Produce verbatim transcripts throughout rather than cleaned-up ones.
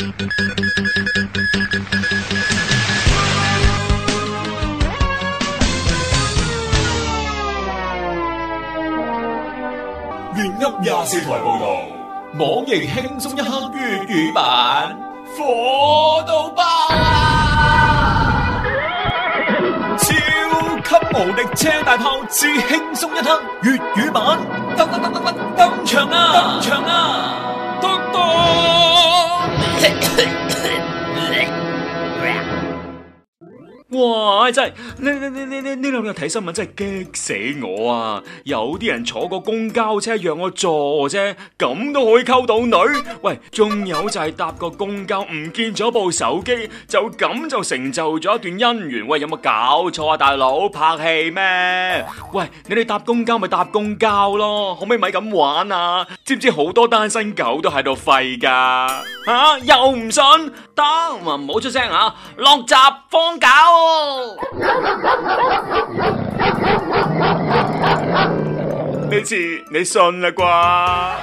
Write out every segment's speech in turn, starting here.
粵音廿四台報道，網易輕鬆一刻粵語版火到爆啊！超級無敵車大炮之輕鬆一刻粵語版登登登登登登場啊！登場啊！登哇！真係呢呢呢呢呢呢兩日睇新聞真係激死我啊！有啲人坐個公交車讓我坐啫，咁都可以溝到女。喂，仲有就係搭個公交唔見咗部手機，就咁就成就咗一段姻緣。喂，有冇搞錯啊，大佬？拍戲咩？喂，你哋搭公交咪搭公交咯，可唔可以咪咁玩啊？知唔知好多單身狗都喺度廢噶？吓、啊，又唔信？得，唔好出聲啊！落閘放狗。呢次你信啦啩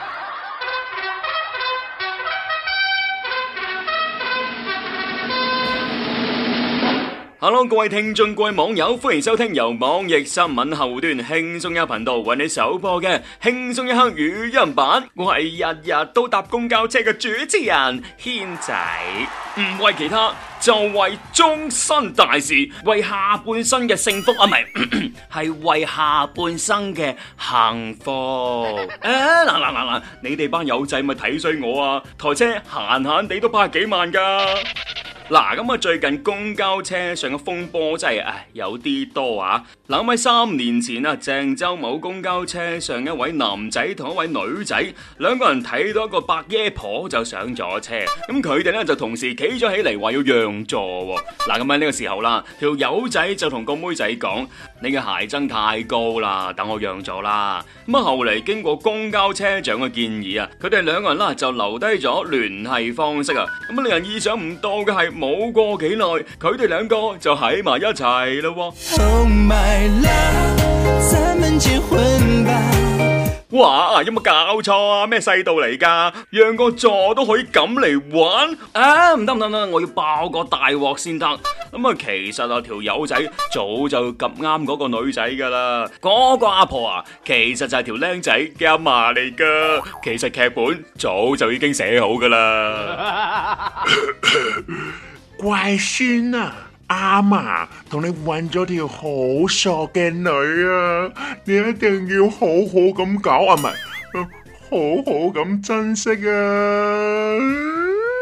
？Hello， 各位聽眾、各位網友，歡迎收聽由網易新聞後端輕鬆一刻頻道為你首播嘅輕鬆一刻語音版。我係日日都搭公交車嘅主持人軒仔，唔為其他，就為終身大事，為下半生嘅幸福啊，唔係，係為下半生嘅幸福。誒，嗱嗱嗱嗱，你哋班友仔咪睇衰我啊！台車閒閒地都百幾萬噶。嗱，咁啊，最近公交車上嘅風波真係唉有啲多啊！嗱，咁喺三年前啊，鄭州某公交車上一位男仔同一位女仔兩個人睇到一個白爺婆就上咗車，咁佢哋咧就同時企咗起嚟話要讓座。嗱，咁喺呢個時候啦，條友仔就同個妹仔講：你嘅鞋踭太高啦，等我讓座啦。咁啊，後嚟經過公交車長嘅建議啊，佢哋兩個人啦就留低咗聯繫方式啊。咁啊，令人意想唔到嘅係，冇過幾耐，佢哋兩個就喺埋一齊啦。Oh my love， 咱們結婚吧！哇，有冇搞錯啊？咩世道嚟噶？讓個座都可以咁嚟玩？啊，唔得唔得唔得，我要爆個大鑊先得。咁啊，其實啊，條友仔早就夾啱嗰個女仔噶啦。嗰個阿婆啊，其實就係條僆仔嘅阿嫲嚟噶。其實劇本早就已經寫好噶啦。 乖孫啊，阿嫲同你揾咗條好傻嘅女啊，你一定要好好咁搞啊，唔係，好好咁珍惜啊！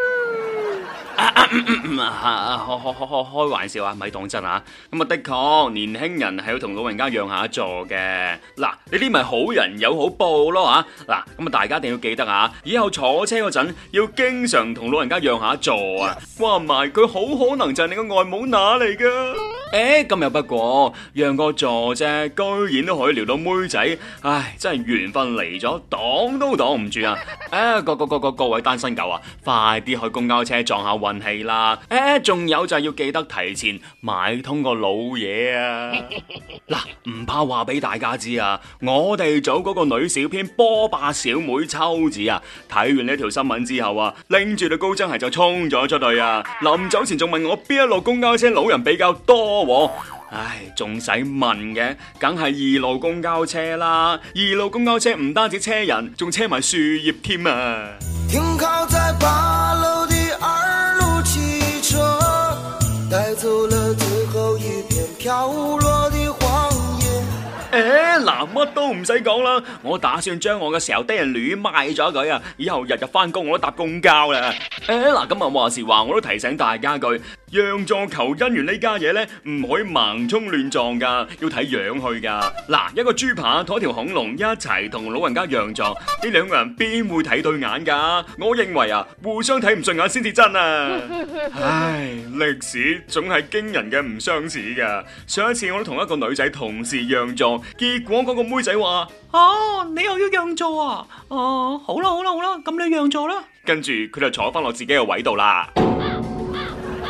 開開開開玩笑啊，咪當真啊！咁啊，的確年輕人係要同老人家讓下座嘅。嗱，呢啲咪好人有好報咯吓。嗱，咁啊，大家一定要記得啊，以後坐車嗰陣要經常同老人家讓下座啊。話唔埋佢好可能就係你個外母乸嚟噶。誒，咁又不過讓個座啫，居然都可以撩到妹仔，唉，真係緣分嚟咗，擋都擋唔住啊！誒，各各各各各位單身狗啊，快啲去公交車撞下運氣啦！誒，仲有就係要記得提前買通個老嘢啊！嗱，唔怕話俾大家知啊，我哋組嗰個女小編波霸小妹秋子啊，睇完呢條新聞之後啊，拎住對高踭鞋就衝咗出去啊！臨走前仲問我邊一路公交車老人比較多。唉，仲使問嘅，梗係二路公交車啦！二路公交車唔單止車人，仲車埋樹葉添啊！停靠在八樓的二路汽車，帶走了最後一片飄落的黃葉。誒，嗱，乜都唔使講啦，我打算將我嘅時候低人驢賣咗佢啊！以後日日翻工我都搭公交啦。誒，嗱，咁啊話時話，我都提醒大家句。讓座求姻緣呢家嘢呢，唔可以盲衝亂撞噶，要睇樣去噶。嗱，一個豬扒同一條恐龍一齊同老人家讓座，呢兩個人邊會睇對眼噶？我認為啊，互相睇唔順眼先至真啊！唉，歷史總係驚人嘅唔相似噶。上一次我都同一個女仔同時讓座，結果嗰個妹仔話：啊，你又要讓座啊？哦、啊，好啦好啦好啦，咁你讓座啦。跟住佢就坐翻落自己嘅位度啦。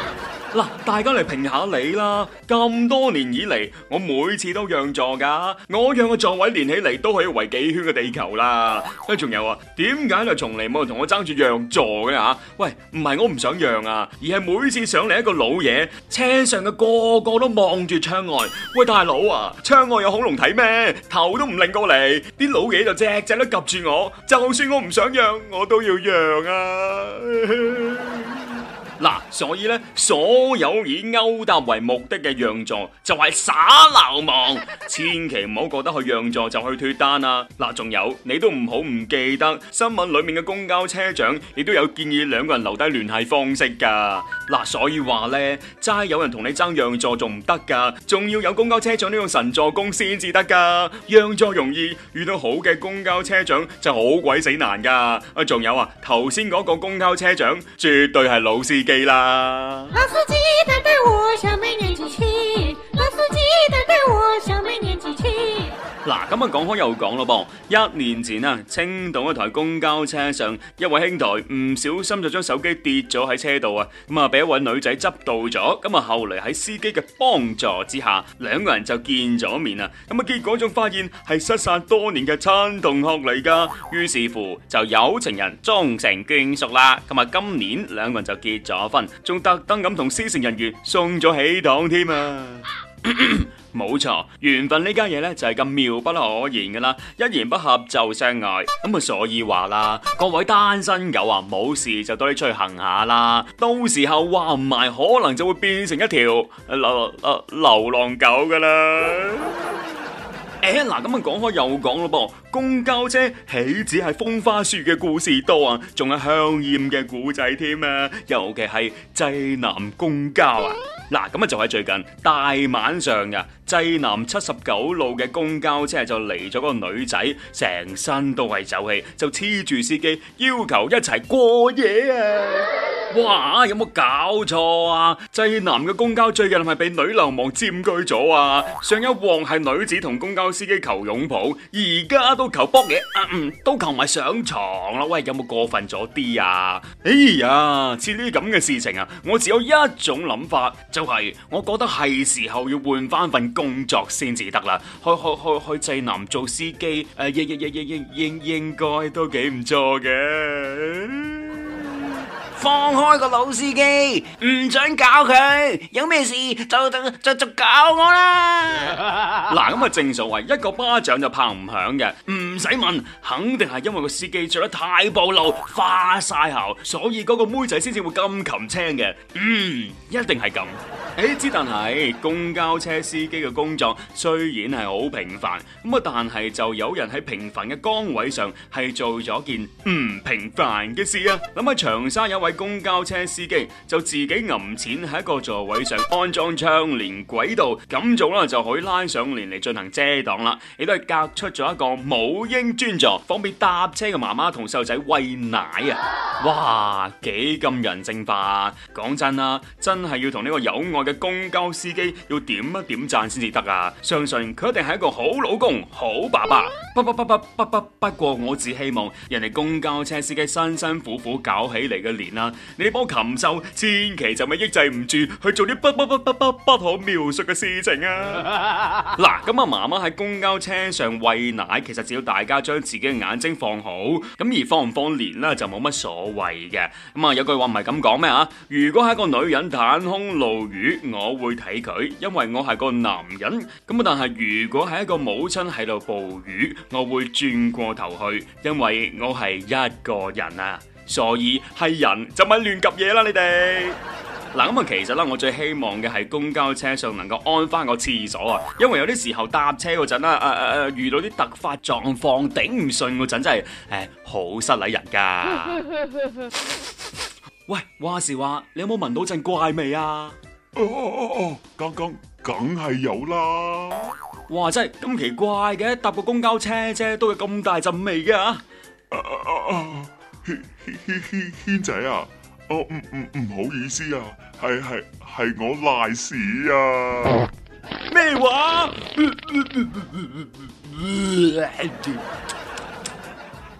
嗱，大家嚟評下你啦！咁多年以嚟，我每次都讓座噶，我讓嘅座位連起嚟都可以圍幾圈嘅地球啦。誒，仲有啊，點解就從嚟冇人同我爭住讓座嘅吓？喂，唔係我唔想讓啊，而係每次上嚟一個老嘢，車上嘅個個都望住窗外。喂，大佬啊，窗外有恐龍睇咩？頭都唔擰過嚟，啲老嘢就隻隻都及住我，就算我唔想讓，我都要讓啊！嗱，所以咧，所有以勾搭為目的嘅讓座就係耍流氓，千祈唔好覺得去讓座就去脫單啊！嗱，仲有你都唔好唔記得新聞裏面嘅公交車長亦都有建議兩個人留低聯繫方式噶。嗱，所以話咧，齋有人同你爭讓座仲唔得噶，仲要有公交車長呢個神助攻先至得噶。讓座容易，遇到好嘅公交車長就好鬼死難噶。啊，仲有啊，頭先嗰個公交車長絕對係老司機啦。 老司機帶帶我小妹年紀輕，老司機帶帶我小妹年紀輕。 嗱，咁啊講開又講咯噃，一年前啊，青島一台公交車上，一位兄台唔小心就將手機跌咗喺車度啊，咁啊俾一位女仔執到咗，咁啊後嚟喺司機嘅幫助之下，兩個人就見咗面啊，咁啊結果仲發現係失散多年嘅親同學嚟噶，於是乎就有情人終成眷屬啦，咁啊今年兩個人就結咗婚，仲特登咁同司乘人員送咗喜糖添啊！冇錯，緣分呢家嘢呢就係咁妙不可言噶啦，一言不合就相愛，咁啊所以話啦，各位單身狗啊，冇事就多啲出去行下啦，到時候話唔埋可能就會變成一條流流流浪狗噶啦。誒，嗱，咁啊講開又講咯噃，公交車豈止係風花雪嘅故事多啊，仲有香艷嘅古仔添啊，尤其係濟南公交啊。嗱，咁啊就喺最近大晚上噶，濟南七十九路嘅公交車就嚟咗個女仔，成身都係酒氣，就黐住司機要求一齊過夜啊！哇，有冇搞錯啊？濟南嘅公交最近係咪被女流氓佔據咗啊？上一鑊係女子同公交司機求擁抱，而家都求卜嘢，啊嗯，都求埋上床啦！喂，有冇過分咗啲啊？哎呀，似呢啲咁嘅事情啊，我只有一種諗法，就係、是、我覺得係時候要換翻份工作先至得啦。去去去去濟南做司機，誒、呃，應應應應應應該都幾唔錯嘅。 放開個老司機，唔准搞佢，有咩事就就就就搞我啦！ 嗱，咁啊正所謂一個巴掌就拍唔響嘅，唔使問，肯定係因為個司機着得太暴露，花晒姣，所以嗰個妹仔先至會咁擒青嘅。嗯，一定係咁。誒，之但係公交車司機嘅工作雖然係好平凡，咁啊但係就有人喺平凡嘅崗位上係做咗件唔平凡嘅事啊！諗下長沙有位公交車司機就自己揞錢喺一個座位上安裝窗簾軌道，咁做啦就可以拉上簾嚟進行遮擋啦，亦都係隔出咗一個母嬰專座，方便搭車嘅媽媽同細路仔餵奶啊！哇，幾咁人性化啊！講真啦，真係要同呢個有愛嘅公交司機要點一點讚先至得啊！相信佢一定係一個好老公、好爸爸。不不不不不不不過我只希望人哋公交車司機辛辛苦苦搞起嚟嘅年啦，你幫禽獸千祈就咪抑制唔住去做啲不不不不不不可描述嘅事情啊！嗱，咁啊媽媽喺公交車上餵奶，其實只要大家將自己嘅眼睛放好，咁而放唔放年啦就冇乜所謂嘅。咁啊有句話唔係咁講咩啊？如果係一個女人袒胸露乳，我會睇佢，因為我係個男人。咁啊但係如果係一個母親喺度哺乳，我會轉過頭去，因為我係一個人啊。所以係人就咪亂及嘢啦，你哋。嗱，咁啊，其實啦，我最希望嘅係公交車上能夠安翻個廁所啊，因為有啲時候搭車嗰陣啦，誒誒誒，遇到啲突發狀況頂唔順嗰陣，真係誒好失禮人噶。喂，話時話，你有冇聞到陣怪味啊？ 哦哦哦，梗梗梗係有啦。 哇，真係咁奇怪嘅，搭個公交車啫，都有咁大陣味嘅啊！ 啊啊啊！軒軒軒軒仔啊！哦，唔唔唔好意思啊，係係係我賴屎啊！ 咩話？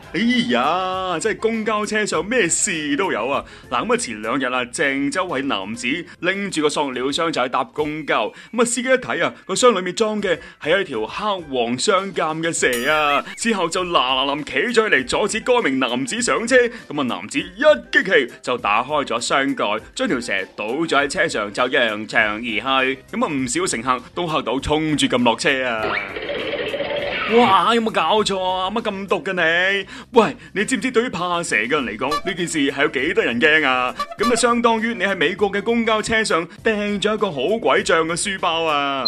哎呀，真係公交車上咩事都有啊！嗱，咁啊前兩日啊，鄭州位男子拎住個塑料箱就去搭公交，咁啊司機一睇啊，個箱裏面裝嘅係一條黑黃相間嘅蛇啊！之後就嗱嗱臨企咗起嚟阻止該名男子上車，咁啊男子一激氣就打開咗箱蓋，將條蛇倒咗喺車上就揚長而去，咁啊唔少乘客都嚇到衝住咁落車啊！哇！有冇搞錯啊？乜咁毒嘅你？喂，你知唔知對於怕蛇嘅人嚟講，呢件事係有幾得人驚啊？咁就相當於你喺美國嘅公交車上掟咗一個好鬼脹嘅書包啊！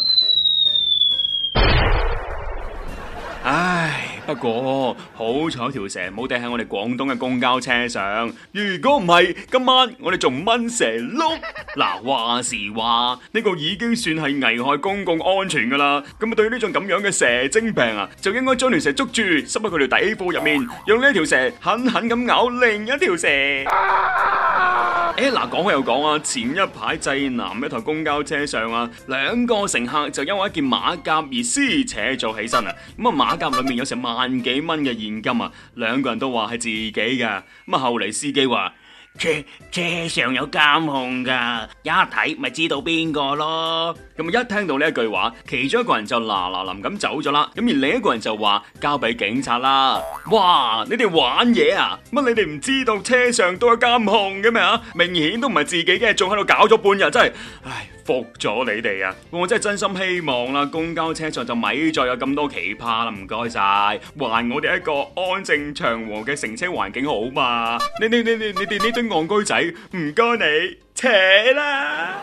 唉，不過好彩條蛇冇掟喺我哋廣東嘅公交車上，如果唔係，今晚我哋仲掹蛇碌。嗱，話時話呢個已經算係危害公共安全噶啦，咁啊對於呢種咁樣嘅蛇精病啊，就應該將條蛇捉住，塞喺佢條底褲入面，用呢條蛇狠狠咁咬另一條蛇。誒，嗱，講開又講啊，前一排濟南一台公交車上啊，兩個乘客就因為一件馬甲而撕扯咗起身啊，咁啊馬甲裏面有成萬幾蚊嘅現金啊，兩個人都話係自己噶，咁啊後嚟司機話車車上有監控噶，一睇咪知道邊個咯。咁一聽到呢一句話，其中一個人就嗱嗱臨咁走咗啦，咁而另一個人就話交俾警察啦。哇！你哋玩嘢啊？乜你哋唔知道車上都有監控嘅咩啊？明顯都唔係自己嘅，仲喺度搞咗半日，真係，唉，服咗你哋啊！我真係真心希望啦，公交車上就咪再有咁多奇葩啦，唔該晒，還我哋一個安靜祥和嘅乘車環境好嘛？你你你你你哋呢堆戇居仔，唔該你扯啦！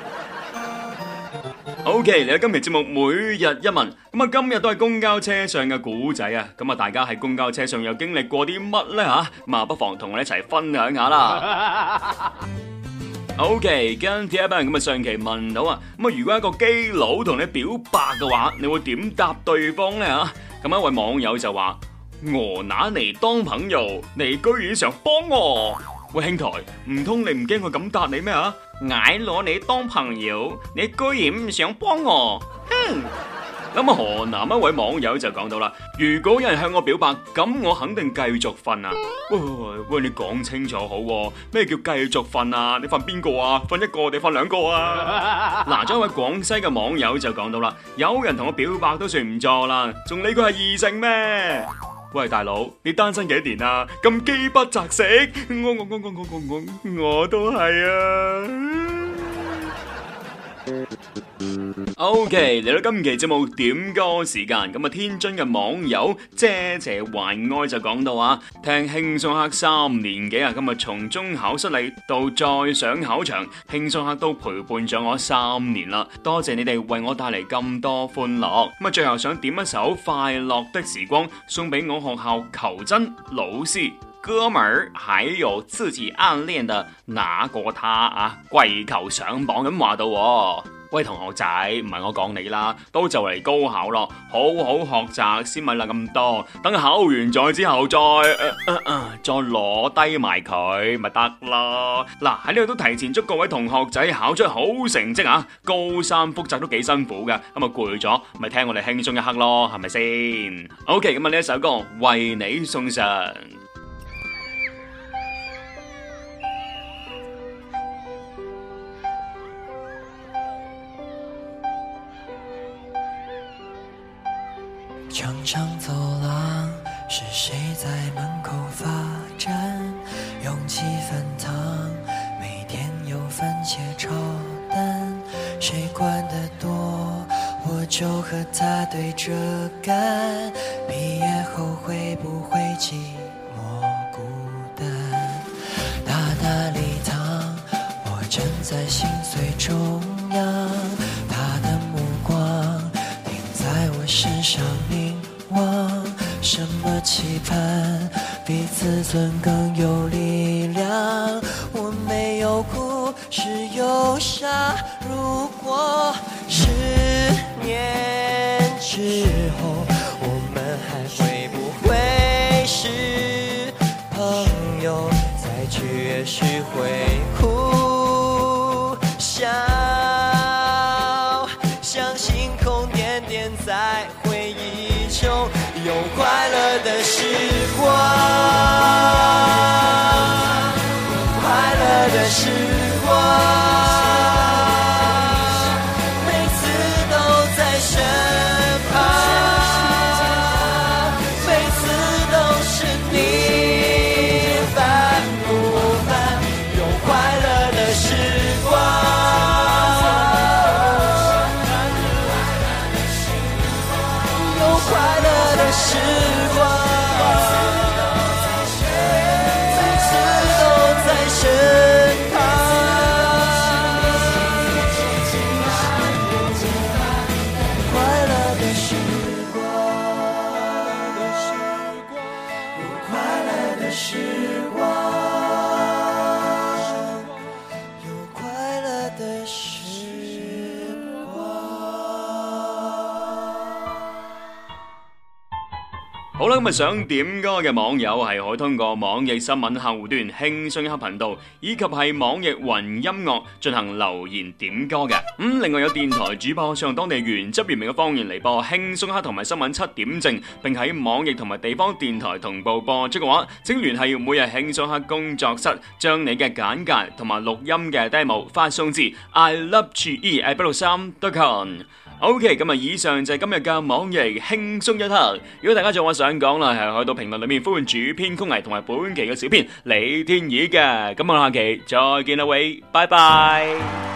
OK， 嚟到今期節目每日一問，咁啊今日都係公交車上嘅古仔啊，咁啊大家喺公交車上又經歷過啲乜呢吓？咁啊不妨同我哋一齊分享下啦。OK， 跟住一班人咁啊上期問到啊，咁啊如果一個基佬同你表白嘅話，你會點答對方呢吓？咁一位網友就話：我拿你當朋友，你居然想幫我？喂兄台，唔通你唔驚佢咁答你咩啊？嗌攞你當朋友，你居然唔想幫我？哼！咁啊河南一位網友就講到啦，如果有人向我表白，咁我肯定繼續瞓啊！喂喂喂，你講清楚好喎，咩叫繼續瞓啊？你瞓邊個啊？瞓一個定瞓兩個啊？嗱，咗一位廣西嘅網友就講到啦，有人同我表白都算唔錯啦，仲理佢係異性咩？喂大佬，你單身幾年啊？咁飢不擇食，我我我我我我我我都係啊！OK，嚟到今期節目點歌時間，咁啊天津嘅網友謝謝還愛就講到啊，聽輕鬆黑三年幾啊，今日從中考失利到再上考場，輕鬆黑都陪伴咗我三年啦，多謝你哋為我帶嚟咁多歡樂。咁啊最後想點一首快樂的時光送俾我學校求真老師哥們兒，還有自己暗戀的那個他啊，跪求上榜咁話到喎。喂同學仔，唔係我講你啦，都就嚟高考咯，好好學習先咪啦咁多，等考完咗之後再、呃呃呃、再攞低埋佢咪得咯。嗱喺呢度都提前祝各位同學仔考出好成績啊！高三複習都幾辛苦噶，咁啊攰咗咪聽我哋輕鬆一刻咯，係咪先 ？OK， 咁啊呢一首歌為你送上。 长长走廊，是谁在门口发站？勇气翻烫，每天有番茄炒蛋。谁管得多，我就和他对着干。毕业后会不会寂寞孤单？大大礼堂，我站在心碎中央，他的目光停在我身上。什么期盼比自尊更有力量？我没有哭，是忧伤。如果十年之后，我们还会不会是朋友？再去也许会哭笑，像星空点点在回忆中有快乐的时光。 乐的时光，每次都在身旁，每次都是你，烦不烦？有快乐的时光，有快乐的时光，每次都在身旁，快乐的时光，有快乐的时光，有快乐的时光。 好啦，咁啊想點歌嘅網友係可以通過網易新聞客戶端輕鬆一刻頻道，以及係網易雲音樂進行留言點歌嘅。咁、嗯、另外有電台主播上當地原汁原味嘅方言嚟播輕鬆一刻同埋新聞七點正，並喺網易同埋地方電台同步播出嘅話，請聯繫每日輕鬆一刻工作室，將你嘅簡介同埋錄音嘅 demo 發送至 i love g e at 八六三 dot com。OK， 咁啊，以上就係今日嘅網易輕鬆一刻。如果大家仲有話想講啦，係去到評論裏面歡迎主編曲藝同埋本期嘅小編李天意嘅。咁我下期再見啦，喂，拜拜。